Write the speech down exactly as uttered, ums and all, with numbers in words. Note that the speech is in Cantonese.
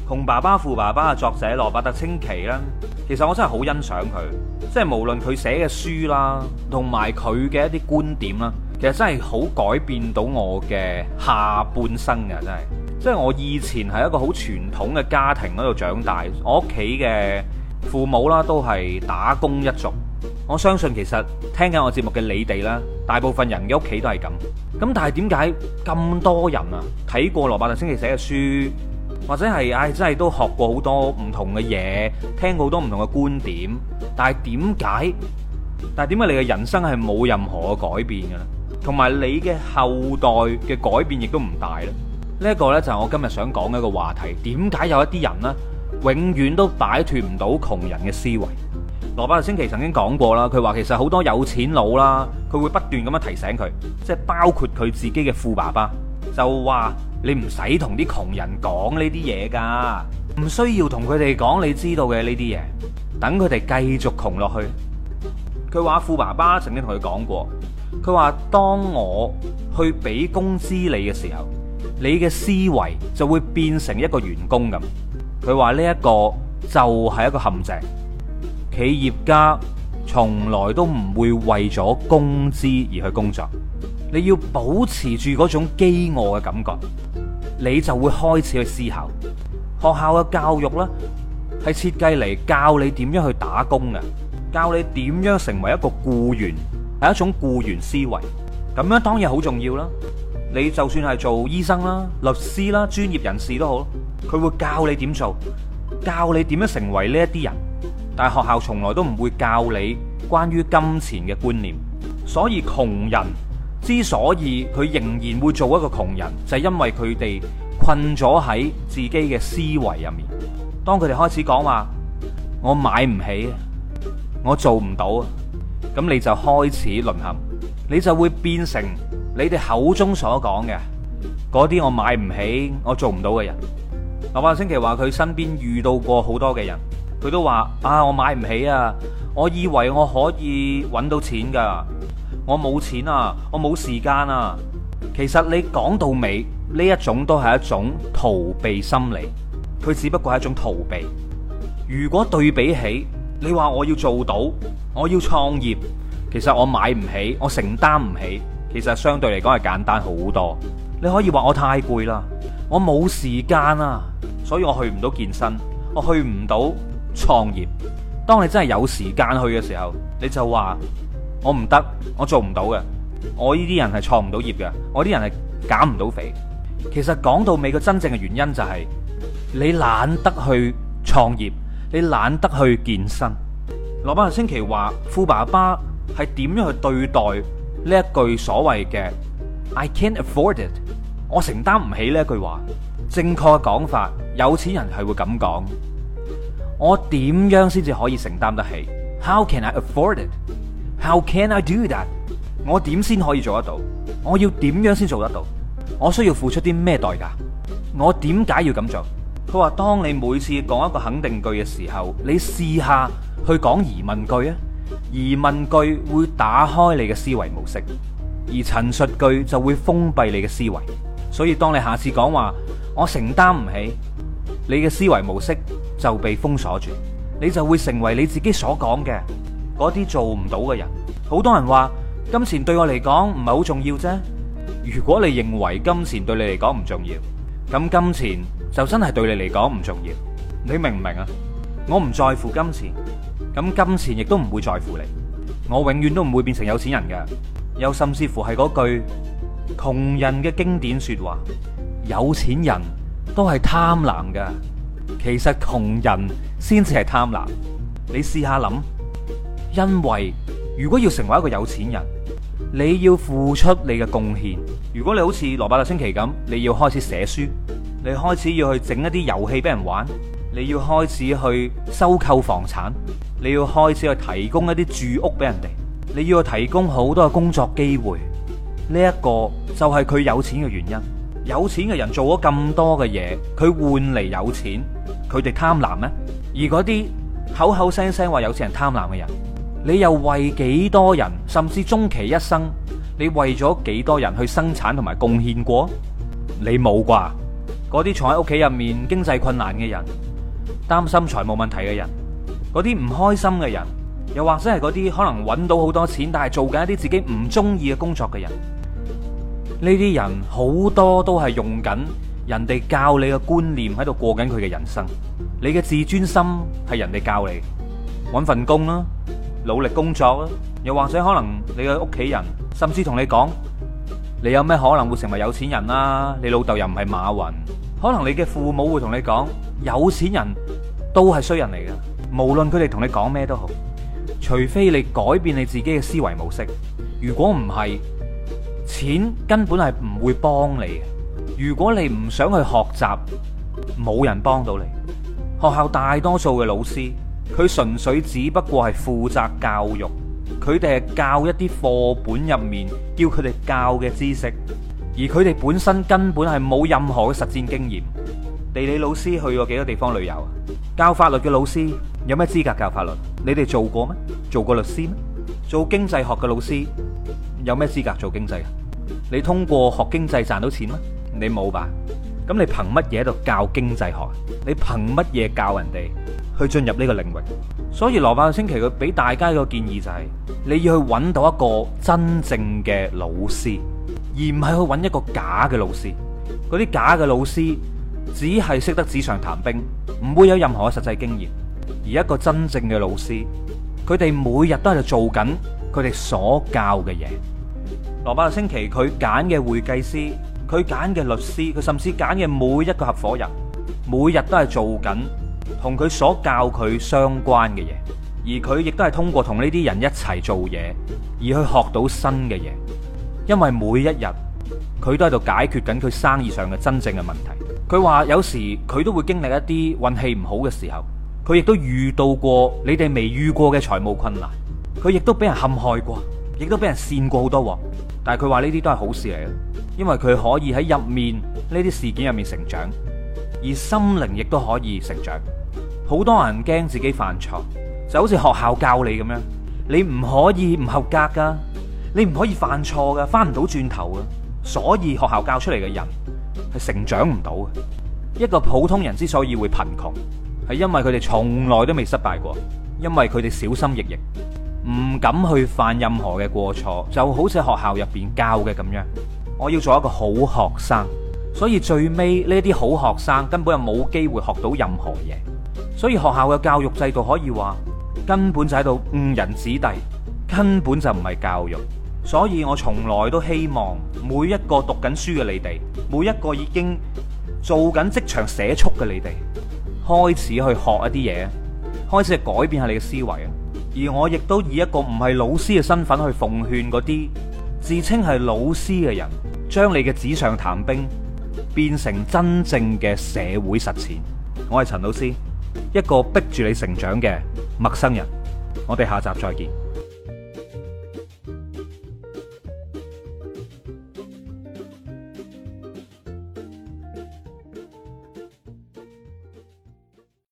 窮爸爸富爸爸嘅作者羅伯特清崎咧，其實我真係好欣賞佢，即係無論佢寫嘅書啦，同埋佢嘅一啲觀點啦，其實真係好改變到我嘅下半生嘅，真係。即係我以前係一個好傳統嘅家庭嗰度長大，我屋企嘅父母啦都係打工一族。我相信其實聽緊我節目嘅你哋啦，大部分人嘅屋企都係咁。咁但係點解咁多人啊睇過羅伯特清崎寫嘅書？或者係唉，真係都學過好多唔同嘅嘢，聽過好多唔同嘅觀點，但係點解？但係點解你嘅人生係冇任何嘅改變嘅咧？同埋你嘅後代嘅改變亦都唔大咧？呢一個呢，就係我今日想講嘅一個話題。點解有一啲人呢，永遠都擺脫唔到窮人嘅思維？羅伯特清崎曾經講過啦，佢話其實好多有錢佬啦，佢會不斷咁樣提醒佢，即係包括佢自己嘅富爸爸，就話。你唔使同啲窮人講呢啲嘢噶，唔需要同佢哋講你知道嘅呢啲嘢，等佢哋繼續窮落去。佢話富爸爸曾經同佢講過，佢話當我去俾工資你嘅時候，你嘅思維就會變成一個員工咁。佢話呢一個就係一個陷阱，企業家從來都唔會為咗工資而去工作。你要保持住嗰種飢餓嘅感覺，你就會開始去思考。學校嘅教育呢，係設計嚟教你點樣去打工嘅，教你點樣成為一個僱員，係一種僱員思維。咁樣當然好重要啦。你就算係做醫生啦、律師啦、專業人士都好，佢會教你點做，教你點樣成為呢一啲人。但係學校從來都唔會教你關於金錢嘅觀念。所以窮人之所以佢仍然會做一個窮人，就係因為佢哋困咗喺自己嘅思維入面。當佢哋開始講話我買唔起，我做唔到，咁你就開始淪陷，你就會變成你哋口中所講嘅嗰啲我買唔起、我做唔到嘅人。羅伯特清崎話佢身邊遇到過好多嘅人，佢都話啊，我買唔起啊，我以為我可以搵到錢噶。我冇錢啊，我冇時間啊。其實你講到尾呢一種都係一種逃避心理，佢只不過係一種逃避。如果對比起你話我要做到，我要創業，其實我買唔起，我承擔唔起，其實相對嚟講係簡單好多。你可以話我太攰啦，我冇時間啊，所以我去唔到健身，我去唔到創業。當你真係有時間去嘅時候，你就話我唔得，我做唔到嘅，我呢啲人係創唔到業嘅，我啲人係減唔到肥。其實講到尾個真正嘅原因就係你懶得去創業，你懶得去健身。羅伯特清崎話富爸爸係點樣去對待呢一句所謂嘅 I can't afford it， 我承擔唔起呢一句話。正確嘅講法，有錢人係會咁講，我點樣先至可以承擔得起？ How can I afford it？How can I do that？ 我點先可以做得到？我要點樣先做得到？我需要付出啲咩代價？我點解要咁做？佢話當你每次講一個肯定句嘅時候，你試下去講疑問句啊！疑問句會打開你嘅思維模式，而陳述句就會封閉你嘅思維。所以當你下次講話我承擔唔起，你嘅思維模式就被封鎖住，你就會成為你自己所講嘅嗰啲做唔到嘅人。好多人話金錢對我嚟講唔係好重要啫。如果你認為金錢對你嚟講唔重要，咁金錢就真係對你嚟講唔重要。你明唔明啊？我唔在乎金錢，咁金錢亦都唔會在乎你。我永遠都唔會變成有錢人嘅。又甚至乎係嗰句窮人嘅經典說話，有錢人都係貪婪嘅，其實窮人先至係貪婪。你試下諗，因為如果要成為一個有錢人，你要付出你嘅貢獻。如果你好似羅伯特清崎咁，你要開始寫書，你開始要去整一啲遊戲俾人玩，你要開始去收購房產，你要開始去提供一啲住屋俾人哋，你要去提供好多嘅工作機會。呢一個就係佢有錢嘅原因。有錢嘅人做咗咁多嘅嘢，佢換嚟有錢，佢哋貪婪咩？而嗰啲口口聲聲話有錢人貪婪嘅人，你又為幾多人，甚至終其一生，你為咗幾多人去生產同埋貢獻過？你冇啩？嗰嗰啲坐喺屋企入面經濟困難嘅人，擔心財務問題嘅人，嗰啲唔開心嘅人，又或者係嗰啲可能揾到好多錢但係做緊一啲自己唔中意嘅工作嘅人，呢啲人好多都係用緊人哋教你嘅觀念喺度過緊佢嘅人生。你嘅自尊心係人哋教你，揾份工啦，努力工作啦，又或者可能你嘅屋企人甚至同你講，你有咩可能會成為有錢人啊？你老豆又唔係馬雲。可能你嘅父母會同你講，有錢人都係衰人嚟嘅，無論佢哋同你講咩都好，除非你改變你自己嘅思維模式。如果唔係，錢根本係唔會幫你嘅。如果你唔想去學習，冇人幫到你。學校大多數嘅老師，佢純粹只不過係負責教育，佢哋係教一啲課本入面叫佢哋教嘅知識，而佢哋本身根本係冇任何嘅實戰經驗。地理老師去過幾多地方旅遊啊？教法律嘅老師有咩資格教法律？你哋做過咩？做過律師咩？做經濟學嘅老師有咩資格做經濟啊？你通過學經濟賺到錢咩？你冇吧？咁你憑乜嘢喺度教經濟學？你憑乜嘢教人哋去進入呢個領域？所以羅伯特清崎佢俾大家一個建議就係，你要去揾到一個真正嘅老師，而唔係去揾一個假嘅老師。嗰啲假嘅老師只係識得紙上談兵，唔會有任何嘅實際經驗。而一個真正嘅老師，佢哋每日都喺度做緊佢哋所教嘅嘢。羅伯特清崎佢揀嘅會計師，佢揀嘅律師，佢甚至揀嘅每一個合夥人，每日都係做緊同佢所教佢相關嘅嘢，而佢亦都係通過同呢啲人一齊做嘢，而去學到新嘅嘢。因為每一日佢都喺度解決緊佢生意上嘅真正嘅問題。佢話有時佢都會經歷一啲運氣唔好嘅時候，佢亦都遇到過你哋未遇過嘅財務困難，佢亦都俾人陷害過，亦都俾人跣過好多鑊。但係佢話呢啲都係好事嚟嘅，因為佢可以喺入面呢啲事件入面成長，而心靈亦都可以成長。好多人驚自己犯錯，就好似學校教你咁樣，你唔可以唔合格噶，你唔可以犯錯噶，翻唔到轉頭噶。所以學校教出嚟嘅人係成長唔到嘅。一個普通人之所以會貧窮，係因為佢哋從來都未失敗過，因為佢哋小心翼翼，唔敢去犯任何嘅過錯，就好似學校入邊教嘅咁樣。我要做一個好學生，所以最尾呢啲好學生根本就冇機會學到任何嘢。所以學校嘅教育制度可以話根本就喺度誤人子弟，根本就唔係教育。所以我從來都希望每一個讀緊書嘅你哋，每一個已經做緊職場社畜嘅你哋，開始去學一啲嘢，開始去改變下你嘅思維啊！而我亦都以一個唔係老師嘅身份去奉勸嗰啲自稱係老師嘅人，將你嘅紙上談兵變成真正嘅社會實踐。我係陳老師，一個逼住你成長嘅陌生人。我哋下集再見。